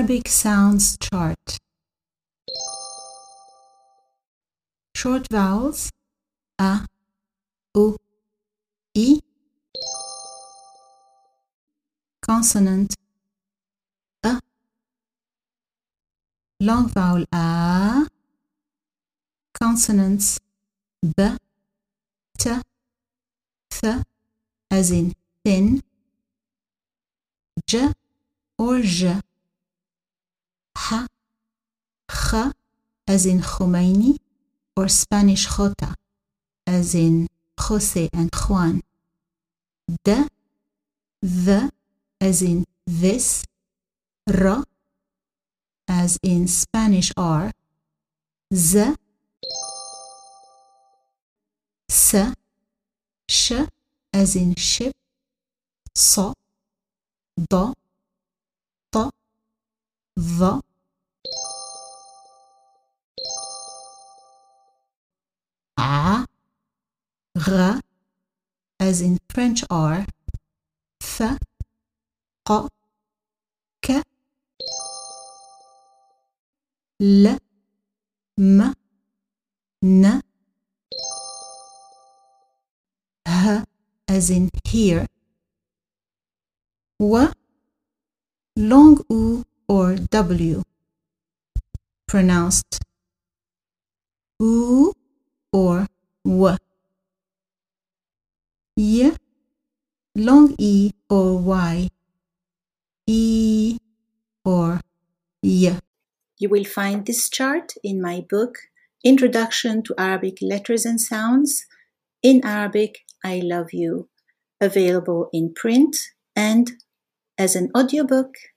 Arabic sounds chart. Short vowels a, u, I. Consonant a. Long vowel a. Consonants b, t, th, as in thin, j or j, h, kh, as in Khomeini or Spanish Jota, as in Jose and Juan, d, the, as in this, r, as in Spanish R, z, s, sh, as in ship, so, do, to, the, a, r, as in French R, th, q, k, l, m, n, h, as in here, w, long u or w, pronounced u or w, y, long e or y, e or y. You will find this chart in my book, Introduction to Arabic Letters and Sounds, in Arabic, I Love You, available in print and as an audiobook